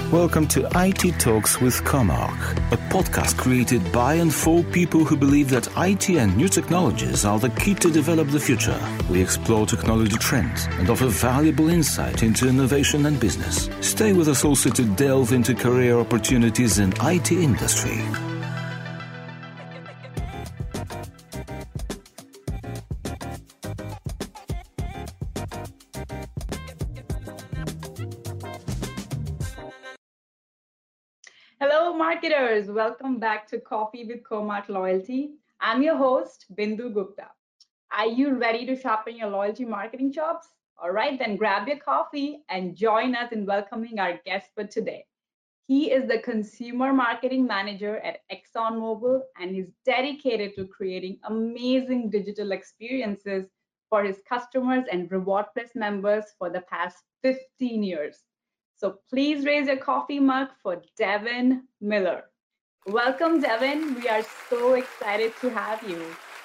Welcome to IT Talks with Comarch, a podcast created by and for people who believe that IT and new technologies are the key to develop the future. We explore technology trends and offer valuable insight into innovation and business. Stay with us also to delve into career opportunities in IT industry. Hello, marketers. Welcome back to Coffee with Comarch Loyalty. I'm your host, Bindu Gupta. Are you ready to sharpen your loyalty marketing chops? All right, then grab your coffee and join us in welcoming our guest for today. He is the Consumer Marketing Manager at ExxonMobil, and he's dedicated to creating amazing digital experiences for his customers and Reward Plus members for the past 15 years. So please raise your coffee mug for Devin Miller. Welcome, Devin. We are so excited to have you.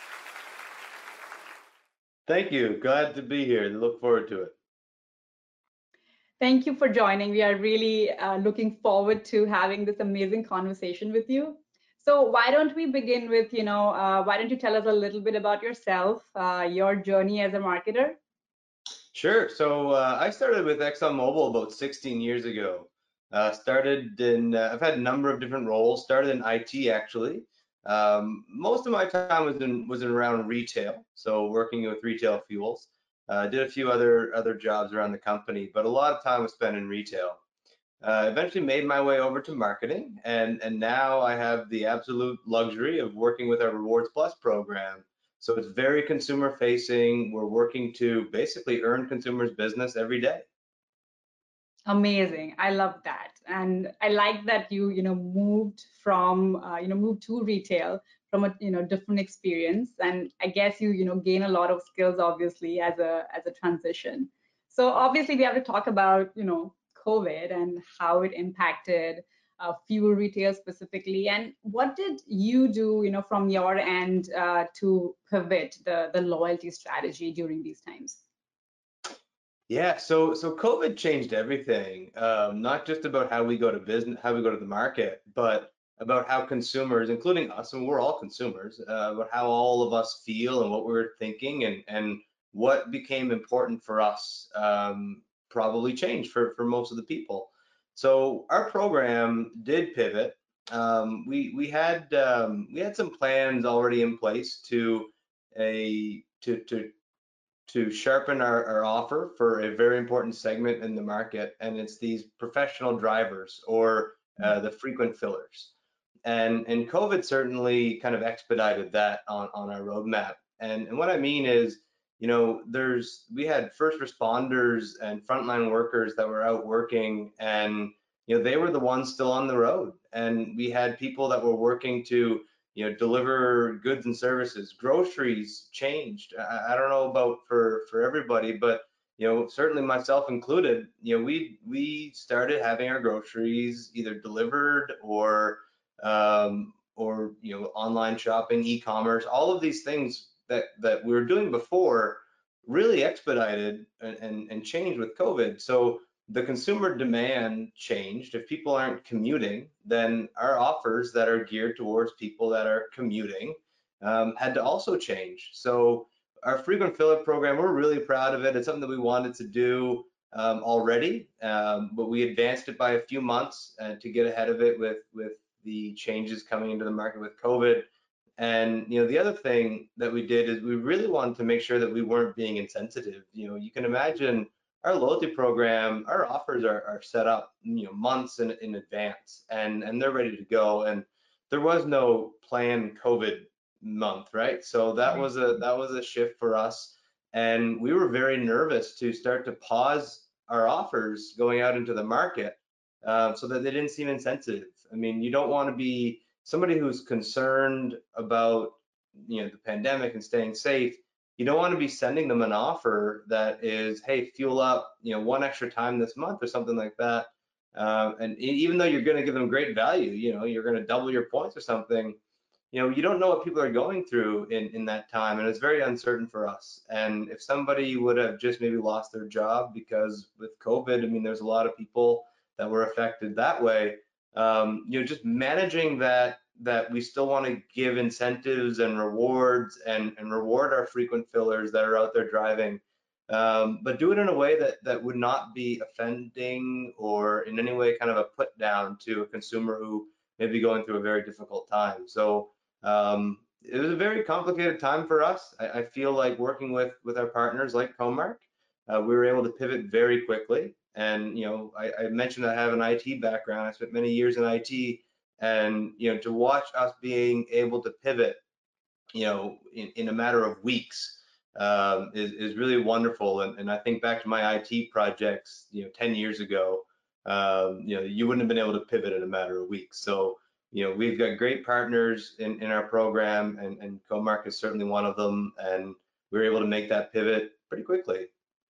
Thank you. Glad to be here. Look forward to it. Thank you for joining. We are really looking forward to having this amazing conversation with you. So why don't we begin with, why don't you tell us a little bit about yourself, your journey as a marketer? Sure. So I started with ExxonMobil about 16 years ago. I've had a number of different roles. Started in IT actually. Most of my time was in around retail, so working with retail fuels. Did a few other jobs around the company, but a lot of time was spent in retail. Eventually made my way over to marketing, and now I have the absolute luxury of working with our Rewards Plus program. So it's very consumer facing. We're working to basically earn consumers' business every day. Amazing. I love that. And I like that you moved to retail from a different experience. And I guess you gain a lot of skills, obviously, as a transition. So obviously we have to talk about, COVID and how it impacted fuel retail specifically. And what did you do, from your end to pivot the loyalty strategy during these times? Yeah, so COVID changed everything. Not just about how we go to business, how we go to the market, but about how consumers, including us, and we're all consumers, about how all of us feel and what we're thinking and what became important for us probably changed for most of the people. So our program did pivot. We had some plans already in place to sharpen our offer for a very important segment in the market, and it's these professional drivers or the frequent fillers. And COVID certainly kind of expedited that on our roadmap. And what I mean is, we had first responders and frontline workers that were out working, and they were the ones still on the road. And we had people that were working to deliver goods and services. Groceries changed. I don't know about for everybody, but certainly myself included, we started having our groceries either delivered or online shopping, e-commerce. All of these things that we were doing before really expedited and changed with COVID. So the consumer demand changed. If people aren't commuting, then our offers that are geared towards people that are commuting had to also change. So our frequent filler program, we're really proud of it. It's something that we wanted to do already, but we advanced it by a few months to get ahead of it with the changes coming into the market with COVID. And the other thing that we did is we really wanted to make sure that we weren't being insensitive. You can imagine our loyalty program, our offers are set up months in advance, and they're ready to go. And there was no planned COVID month, right? So that was a shift for us, and we were very nervous to start to pause our offers going out into the market so that they didn't seem insensitive. I mean, you don't want to be somebody who's concerned about the pandemic and staying safe. You don't want to be sending them an offer that is, hey, fuel up, one extra time this month or something like that. And even though you're going to give them great value, you're going to double your points or something, you don't know what people are going through in that time, and it's very uncertain for us. And if somebody would have just maybe lost their job because with COVID, I mean, there's a lot of people that were affected that way. Just managing that we still want to give incentives and rewards and reward our frequent fillers that are out there driving, but do it in a way that would not be offending or in any way kind of a put down to a consumer who may be going through a very difficult time. So it was a very complicated time for us. I feel like working with our partners like Comark, we were able to pivot very quickly. And I mentioned I have an IT background. I spent many years in IT, and to watch us being able to pivot, in a matter of weeks, is really wonderful. And I think back to my IT projects, 10 years ago, you wouldn't have been able to pivot in a matter of weeks. So we've got great partners in our program, and Comark is certainly one of them, and we were able to make that pivot pretty quickly.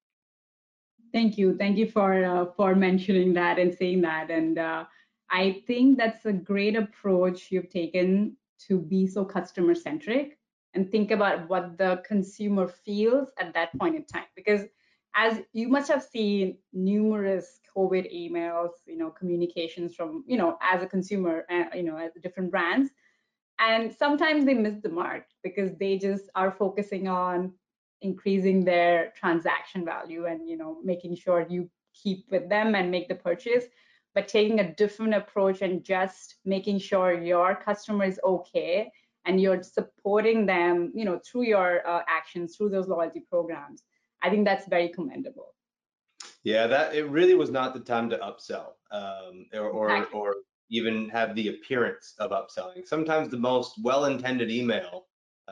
Thank you for mentioning that and saying that, and I think that's a great approach you've taken to be so customer centric and think about what the consumer feels at that point in time. Because as you must have seen numerous COVID emails, communications from, as a consumer, as different brands, and sometimes they miss the mark because they just are focusing on increasing their transaction value and making sure you keep with them and make the purchase, but taking a different approach and just making sure your customer is okay and you're supporting them through your actions, through those loyalty programs. I think that's very commendable. Yeah, that it really was not the time to upsell, Exactly. or even have the appearance of upselling. Sometimes the most well-intended email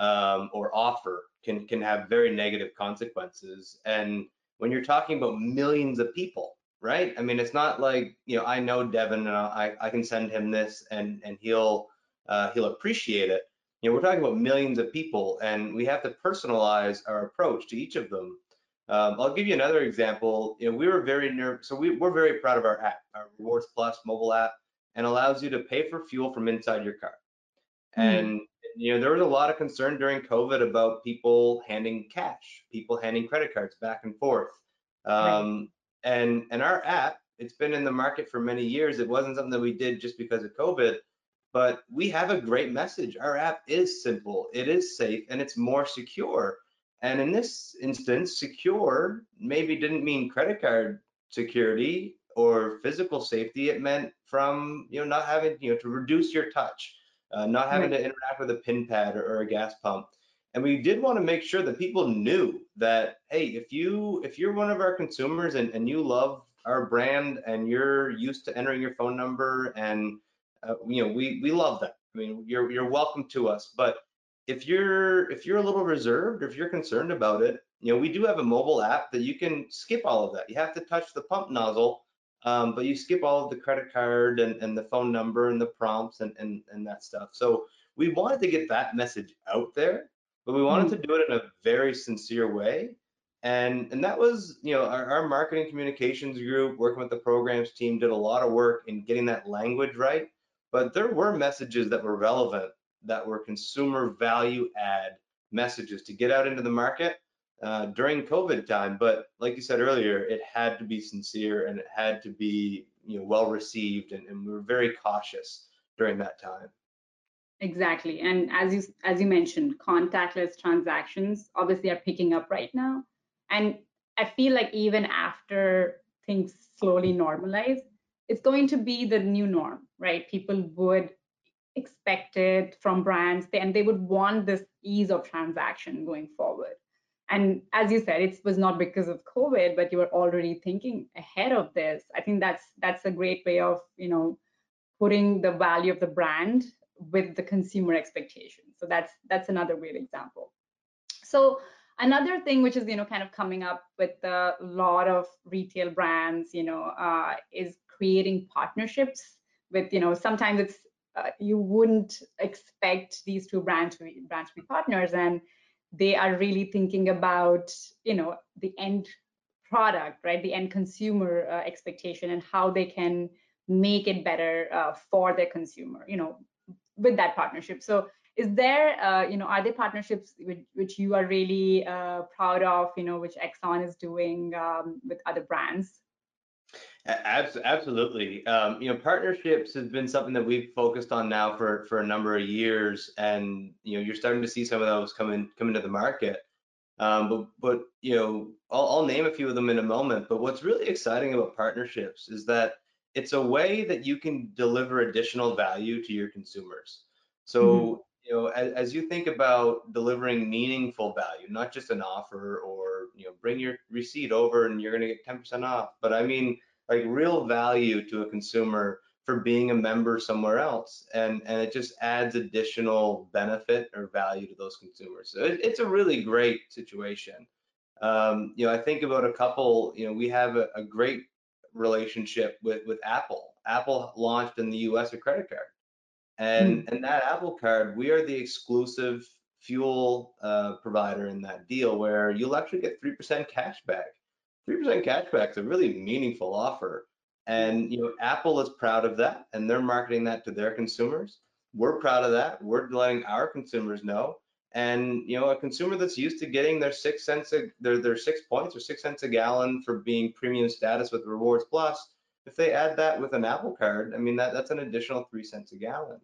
or offer can have very negative consequences. And when you're talking about millions of people, right? I mean, it's not like I know Devin and I can send him this and he'll appreciate it. We're talking about millions of people, and we have to personalize our approach to each of them. I'll give you another example. We were very so we're very proud of our app, our Rewards Plus mobile app, and allows you to pay for fuel from inside your car. And there was a lot of concern during COVID about people handing cash, people handing credit cards back and forth. Right. And our app, it's been in the market for many years. It wasn't something that we did just because of COVID, but we have a great message. Our app is simple, it is safe, and it's more secure. And in this instance, secure maybe didn't mean credit card security or physical safety. It meant from not having to reduce your touch, not having Right. to interact with a pin pad or a gas pump. And we did want to make sure that people knew that, hey, if you're one of our consumers and you love our brand and you're used to entering your phone number, and we love that. I mean, you're welcome to us. But if you're a little reserved, or if you're concerned about it, we do have a mobile app that you can skip all of that. You have to touch the pump nozzle, but you skip all of the credit card and the phone number and the prompts and that stuff. So we wanted to get that message out there, but we wanted to do it in a very sincere way. And that was, our marketing communications group working with the programs team did a lot of work in getting that language right. But there were messages that were relevant, that were consumer value add messages to get out into the market during COVID time. But like you said earlier, it had to be sincere and it had to be well received, and we were very cautious during that time. Exactly. And as you mentioned, contactless transactions obviously are picking up right now. And I feel like even after things slowly normalize, it's going to be the new norm, right? People would expect it from brands, and they would want this ease of transaction going forward. And as you said, it was not because of COVID, but you were already thinking ahead of this. I think that's a great way of putting the value of the brand with the consumer expectation. So that's another great example. So another thing which is kind of coming up with a lot of retail brands is creating partnerships with sometimes it's you wouldn't expect these two brands to be partners, and they are really thinking about the end product, right, the end consumer expectation, and how they can make it better for their consumer with that partnership. So is there are there partnerships which you are really proud of, which Exxon is doing with other brands? Absolutely. Partnerships has been something that we've focused on now for a number of years, and you're starting to see some of those come into the market. But I'll name a few of them in a moment. But what's really exciting about partnerships is that it's a way that you can deliver additional value to your consumers. Mhm. So, as you think about delivering meaningful value, not just an offer or, bring your receipt over and you're going to get 10% off, but I mean like real value to a consumer for being a member somewhere else, and it just adds additional benefit or value to those consumers. So it's a really great situation. I think about a couple. We have a great relationship with Apple. Apple launched in the U.S. a credit card, Mm. and that Apple card, we are the exclusive fuel provider in that deal, where you'll actually get 3% cash back. 3% cash back is a really meaningful offer. Yeah. And Apple is proud of that, and they're marketing that to their consumers. We're proud of that. We're letting our consumers know. And a consumer that's used to getting their 6 cents, their 6 points or 6 cents a gallon for being premium status with Rewards Plus, if they add that with an Apple card, I mean that's an additional 3 cents a gallon.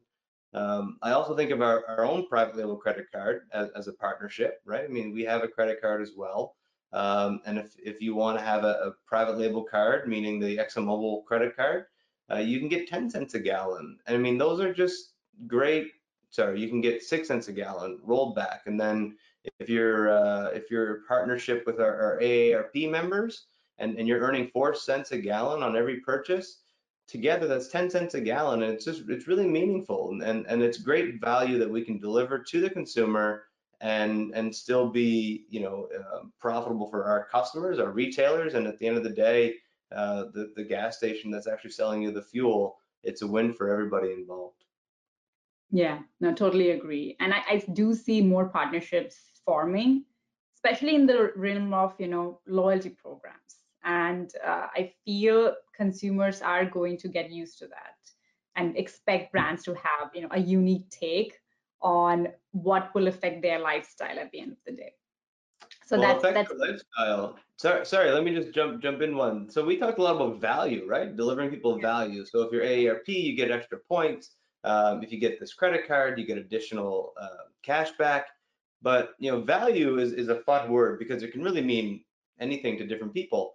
I also think of our own private label credit card as a partnership, right? I mean, we have a credit card as well. And if you want to have a private label card, meaning the ExxonMobil credit card, you can get 10 cents a gallon. And I mean, those are just great. Sorry, you can get 6 cents a gallon rolled back. And then if you're partnership with our AARP members, and you're earning 4 cents a gallon on every purchase, together that's 10 cents a gallon, and it's really meaningful, and it's great value that we can deliver to the consumer, and still be profitable for our customers, our retailers, and at the end of the day, the gas station that's actually selling you the fuel, it's a win for everybody involved. Yeah, no, totally agree. And I do see more partnerships forming, especially in the realm of, loyalty programs. And I feel consumers are going to get used to that and expect brands to have, a unique take on what will affect their lifestyle at the end of the day. So Well, that's affect that's your lifestyle. Sorry, let me just jump in one. So we talked a lot about value, right? Delivering people yeah, value. So if you're AARP, you get extra points. If you get this credit card, you get additional cash back. But value is a fun word because it can really mean anything to different people.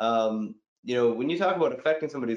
When you talk about affecting somebody's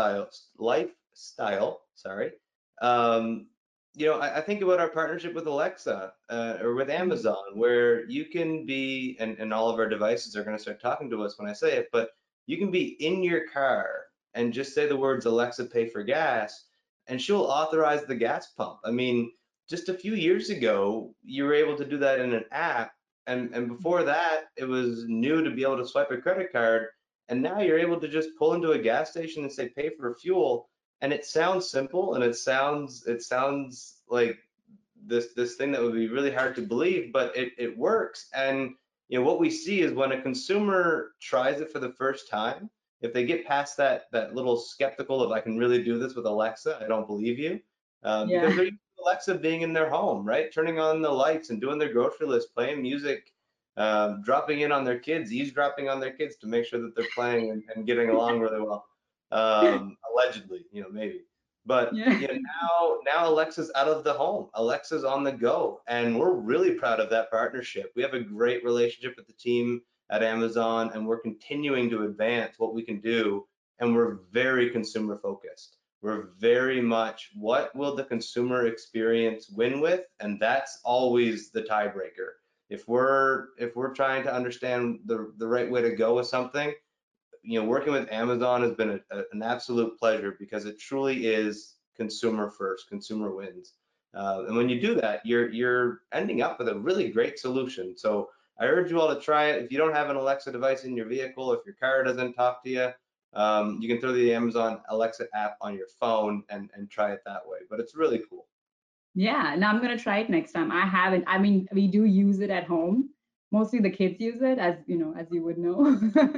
lifestyle, sorry, um, I think about our partnership with Alexa or with Mhm. Amazon, where you can be, and all of our devices are going to start talking to us when I say it, but you can be in your car and just say the words Alexa, pay for gas, and she'll authorize the gas pump. I mean, just a few years ago, you were able to do that in an app, and before that, it was new to be able to swipe a credit card, and now you're able to just pull into a gas station and say pay for fuel, and it sounds simple, and it sounds like this thing that would be really hard to believe, but it works. And what we see is when a consumer tries it for the first time, if they get past that little skeptical of I can really do this with Alexa, I don't believe you, because Yeah. they're used to Alexa being in their home, right, turning on the lights and doing their grocery list, playing music, dropping in on their kids, eavesdropping on their kids to make sure that they're playing and getting along really well, allegedly, maybe. But Yeah. now Alexa's out of the home. Alexa's on the go, and we're really proud of that partnership. We have a great relationship with the team at Amazon, and we're continuing to advance what we can do. And we're very consumer focused. We're very much what will the consumer experience win with, and that's always the tiebreaker. If we're trying to understand the right way to go with something, working with Amazon has been an absolute pleasure because it truly is consumer first, consumer wins. And when you do that, you're ending up with a really great solution. So I urge you all to try it. If you don't have an Alexa device in your vehicle, if your car doesn't talk to you, you can throw the Amazon Alexa app on your phone and try it that way. But it's really cool. Yeah, now I'm gonna try it next time. I haven't. I mean, we do use it at home. Mostly the kids use it, as you would know.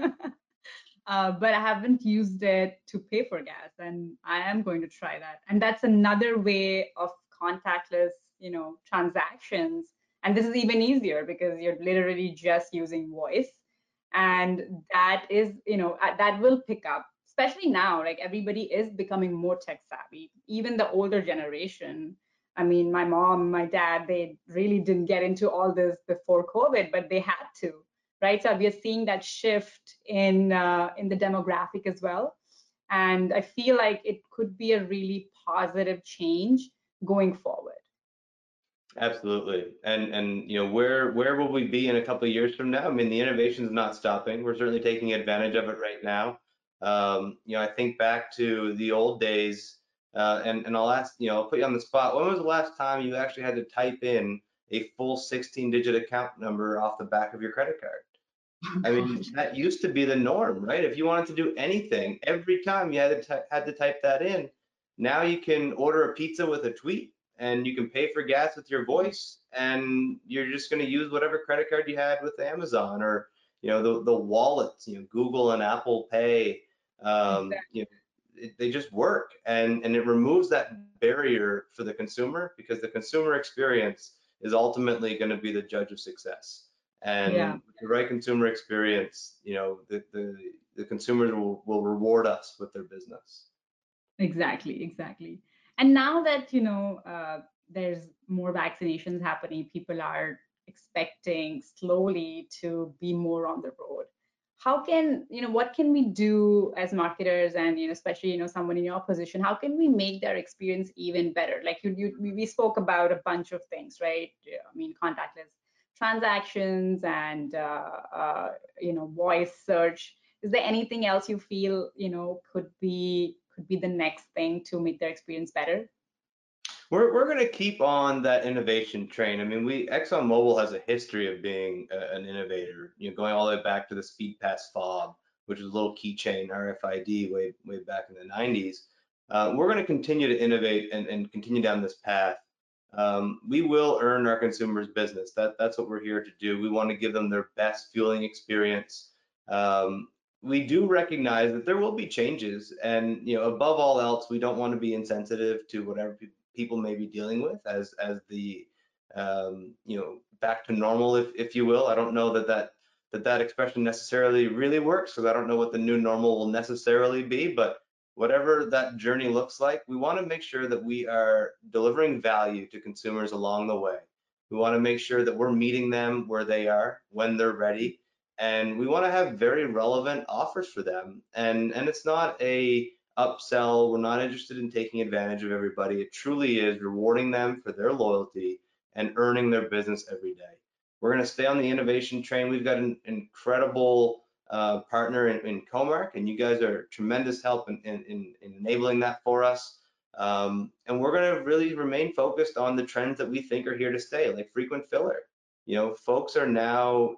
But I haven't used it to pay for gas, and I am going to try that. And that's another way of contactless, transactions. And this is even easier because you're literally just using voice, and that is, that will pick up especially now, like everybody is becoming more tech savvy, even the older generation. I mean, my mom, my dad, they really didn't get into all this before COVID, but they had to, right? So we are seeing that shift in the demographic as well, and I feel like it could be a really positive change going forward. Absolutely. And where will we be in a couple of years from now? I mean, the innovation is not stopping. We're certainly taking advantage of it right now. I think back to the old days, and I'll ask, I'll put you on the spot. When was the last time you actually had to type in a full 16-digit account number off the back of your credit card? I mean, that used to be the norm, right? If you wanted to do anything, every time you had to type that in. Now you can order a pizza with a tweet, and you can pay for gas with your voice, and you're just going to use whatever credit card you had with Amazon, or the wallets, Google and Apple Pay. They just work, and it removes that barrier for the consumer, because the consumer experience is ultimately going to be the judge of success. Yeah. And with the right consumer experience, the consumers will reward us with their business. Exactly, exactly. And now that, there's more vaccinations happening, people are expecting slowly to be more on the road. How can, what can we do as marketers and, especially, someone in your position, how can we make their experience even better? Like we spoke about a bunch of things, right? Yeah, I mean, contactless transactions and, voice search. Is there anything else you feel could be the next thing to make their experience better? We're going to keep on that innovation train. I mean, ExxonMobil has a history of being an innovator, going all the way back to the SpeedPass fob, which is a little keychain RFID way back in the 90s. We're going to continue to innovate and continue down this path. We will earn our consumers' business. That's what we're here to do. We want to give them their best fueling experience. We do recognize that there will be changes, and above all else, we don't want to be insensitive to whatever people may be dealing with as the back to normal, if you will. I don't know that expression necessarily really works, because I don't know what the new normal will necessarily be, but whatever that journey looks like, we want to make sure that we are delivering value to consumers along the way. We want to make sure that we're meeting them where they are when they're ready, and we want to have very relevant offers for them. And it's not a upsell. We're not interested in taking advantage of everybody. It truly is rewarding them for their loyalty and earning their business every day. We're going to stay on the innovation train. We've got an incredible partner in Comarch, and you guys are tremendous help in enabling that for us. And we're going to really remain focused on the trends that we think are here to stay, like frequent filler. Folks are now,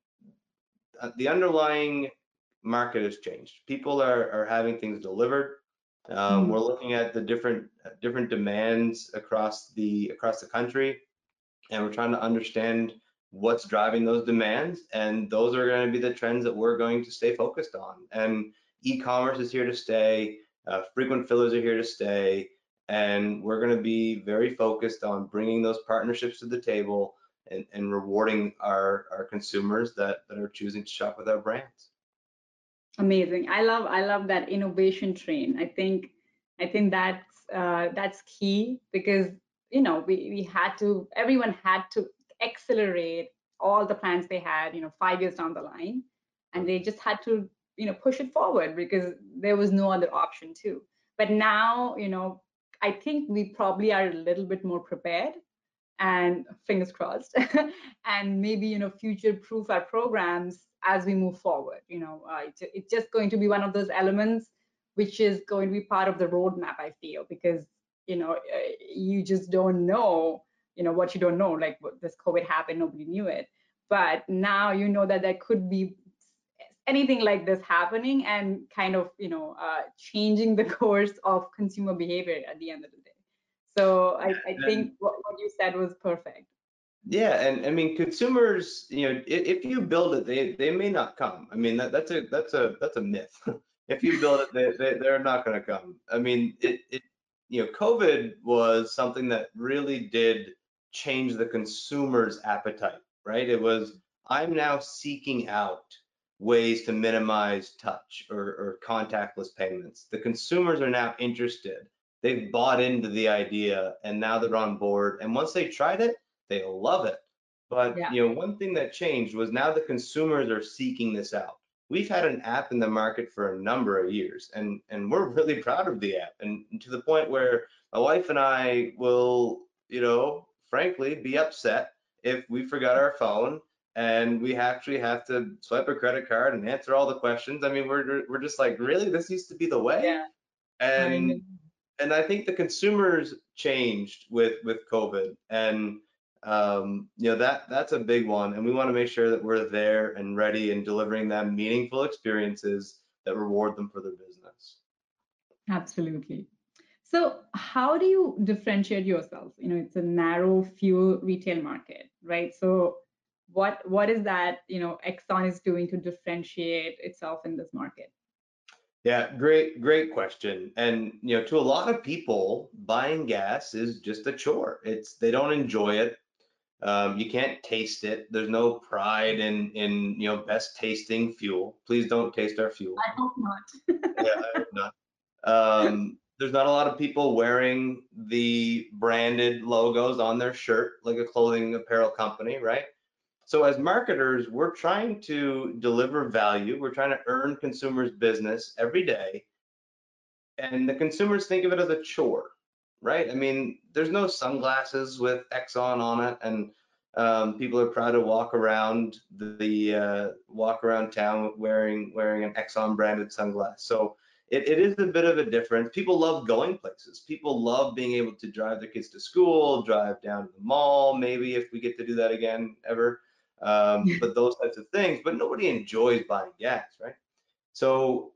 the underlying market has changed. People are having things delivered. We're looking at the different demands across the country, and we're trying to understand what's driving those demands, and those are going to be the trends that we're going to stay focused on. And e-commerce is here to stay. Frequent fillers are here to stay, and we're going to be very focused on bringing those partnerships to the table and rewarding our consumers that are choosing to shop with our brands. Amazing. I love that innovation train. I think that's key, because everyone had to accelerate all the plans they had 5 years down the line, and they just had to push it forward because there was no other option too. But now I think we probably are a little bit more prepared, and fingers crossed, and maybe future proof our programs as we move forward. It's just going to be one of those elements which is going to be part of the roadmap, I feel, because you just don't know what you don't know. Like, this COVID happened, nobody knew it, but now that there could be anything like this happening, and kind of changing the course of consumer behavior at the end of the day. So I think what you said was perfect. Yeah, and I mean, consumers, if you build it, they may not come. I mean, that's a myth. If you build it, they're not going to come. I mean, COVID was something that really did change the consumer's appetite, right? It was, I'm now seeking out ways to minimize touch or contactless payments. The consumers are now interested. They've bought into the idea and now they're on board. And once they tried it, they love it. But Yeah. one thing that changed was now the consumers are seeking this out. We've had an app in the market for a number of years, and we're really proud of the app, and to the point where my wife and I will, frankly, be upset if we forgot our phone and we actually have to swipe a credit card and answer all the questions. I mean, we're just like, really? This used to be the way? Yeah. I know. And I think the consumers changed with COVID, and that's a big one. And we want to make sure that we're there and ready and delivering them meaningful experiences that reward them for their business. Absolutely. So how do you differentiate yourself? It's a narrow fuel retail market, right? So what is that, Exxon is doing to differentiate itself in this market? Yeah, great question. And to a lot of people, buying gas is just a chore. They don't enjoy it. You can't taste it. There's no pride in best tasting fuel. Please don't taste our fuel. I hope not. Yeah, I hope not. There's not a lot of people wearing the branded logos on their shirt like a clothing apparel company, right? So as marketers, we're trying to deliver value. We're trying to earn consumers' business every day. And the consumers think of it as a chore, right? I mean, there's no sunglasses with Exxon on it, and people are proud to walk around walk around town wearing an Exxon branded sunglass. So it is a bit of a difference. People love going places. People love being able to drive their kids to school, drive down to the mall, maybe if we get to do that again ever. But those types of things. But nobody enjoys buying gas, right? So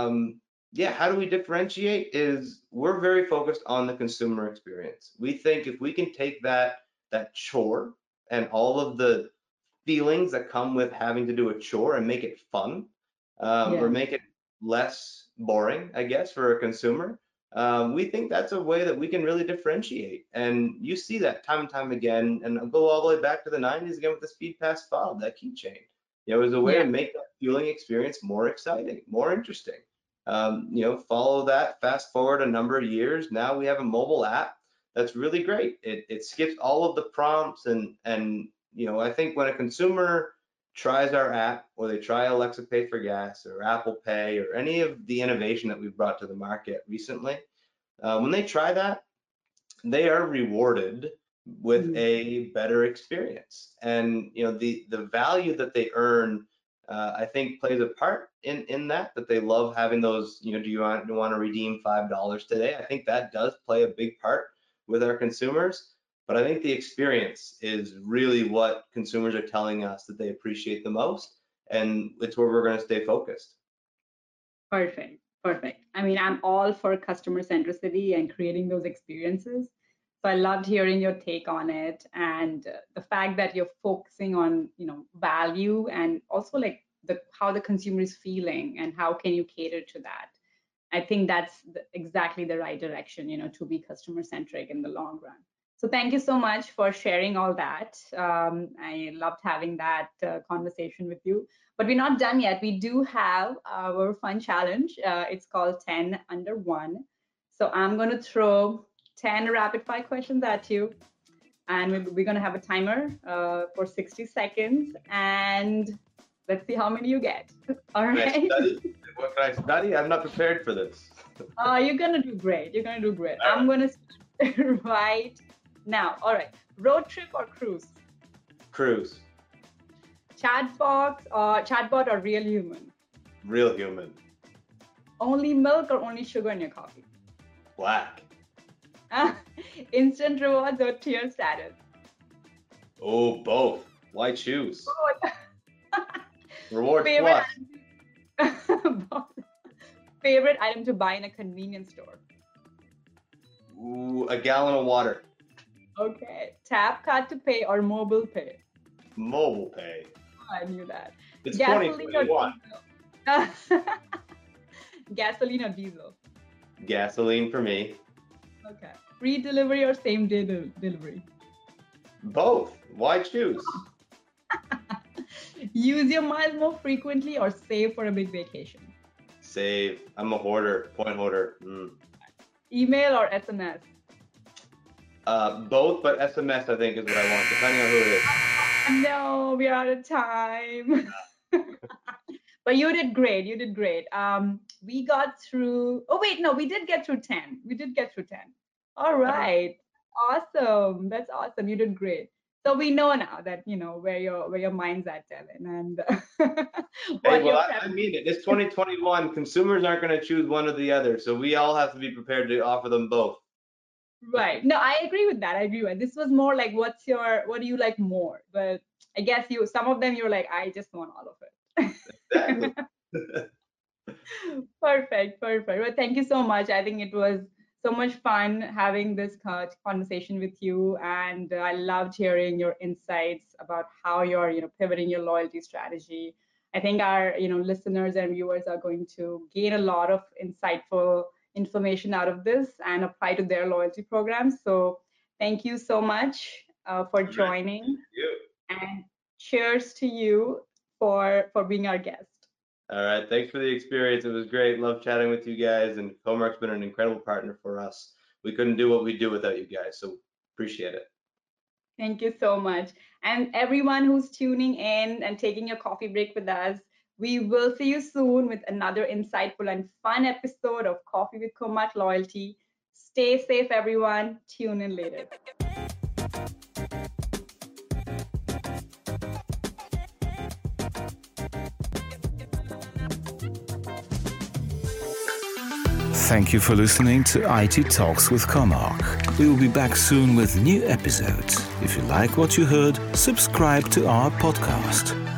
yeah, how do we differentiate? Is we're very focused on the consumer experience. We think if we can take that chore and all of the feelings that come with having to do a chore and make it fun, or make it less boring, I guess, for a consumer, we think that's a way that we can really differentiate. And you see that time and time again. And I'll go all the way back to the 90s again with the SpeedPass fob, that keychain. It was a way to make that fueling experience more exciting, more interesting. Follow that, fast forward a number of years. Now we have a mobile app that's really great. It skips all of the prompts, and I think when a consumer tries our app, or they try Alexa Pay for Gas or Apple Pay or any of the innovation that we've brought to the market recently, when they try that, they are rewarded with a better experience. And the value that they earn, I think, plays a part in that they love having those. Do you want to redeem $5 today? I think that does play a big part with our consumers. But I think the experience is really what consumers are telling us that they appreciate the most, and it's where we're going to stay focused. Perfect. I mean, I'm all for customer centricity and creating those experiences. So I loved hearing your take on it, and the fact that you're focusing on, value, and also like how the consumer is feeling and how can you cater to that. I think that's exactly the right direction, to be customer centric in the long run. So thank you so much for sharing all that. I loved having that conversation with you. But we're not done yet. We do have our fun challenge. It's called 10 under 1. So I'm going to throw 10 rapid fire questions at you. And we're going to have a timer for 60 seconds. And let's see how many you get. All right. What can I study? I'm not prepared for this. You're going to do great. I'm going to start right now. All right. Road trip or cruise? Cruise. Chatbot or real human? Real human. Only milk or only sugar in your coffee? Black. Instant rewards or tier status? Oh, both. Why choose? Both. Reward Favorite plus. Favorite item to buy in a convenience store? Ooh, a gallon of water. Okay. Tap card to pay or mobile pay? Mobile pay. Oh, I knew that. It's Gasoline 2021. or diesel? Gasoline or diesel? Gasoline for me. Okay. Free delivery or same day delivery? Both. Why choose? Use your miles more frequently or save for a big vacation? Save. I'm a hoarder, point hoarder. Email or SMS? Both, but SMS I think is what I want, depending on who it is. No, we are out of time. But you did great. You did great. We got through. Oh wait, no, we did get through 10. We did get through 10. All right. Awesome. That's awesome. You did great. So we know now that where your mind's at, Dylan, and Hey, well, I mean it. It's 2021. Consumers aren't going to choose one or the other, so we all have to be prepared to offer them both. Right. No, I agree with that. I agree with that. This was more like, what do you like more? But I guess some of them you're like, I just want all of it. Exactly. Perfect. Well, thank you so much. I think it was so much fun having this conversation with you, and I loved hearing your insights about how you're pivoting your loyalty strategy. I think our listeners and viewers are going to gain a lot of insightful information out of this and apply to their loyalty programs. So thank you so much for joining. Thank you. And cheers to you for being our guest. All right. Thanks for the experience. It was great. Love chatting with you guys. And Comarch's been an incredible partner for us. We couldn't do what we do without you guys. So appreciate it. Thank you so much. And everyone who's tuning in and taking a coffee break with us, we will see you soon with another insightful and fun episode of Coffee with Comarch Loyalty. Stay safe, everyone. Tune in later. Thank you for listening to IT Talks with Comarch. We will be back soon with new episodes. If you like what you heard, subscribe to our podcast.